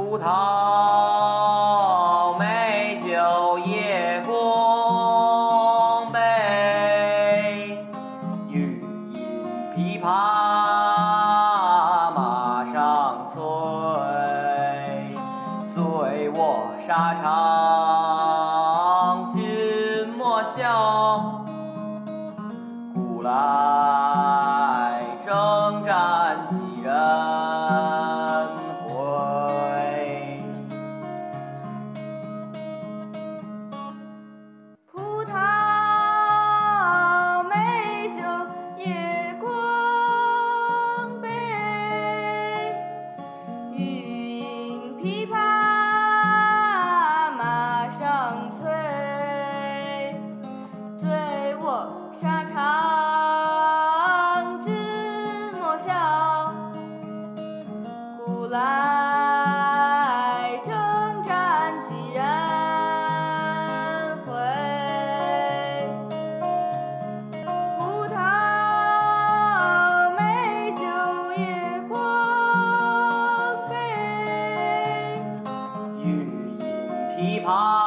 葡萄美酒夜光杯，欲饮琵琶马上催，随我沙场君莫笑，古来征战几人回。 葡萄美酒夜光杯，欲饮琵琶马上催，醉卧沙场君莫笑，古来征战几人回。葡萄美酒夜光杯， 欲饮琵琶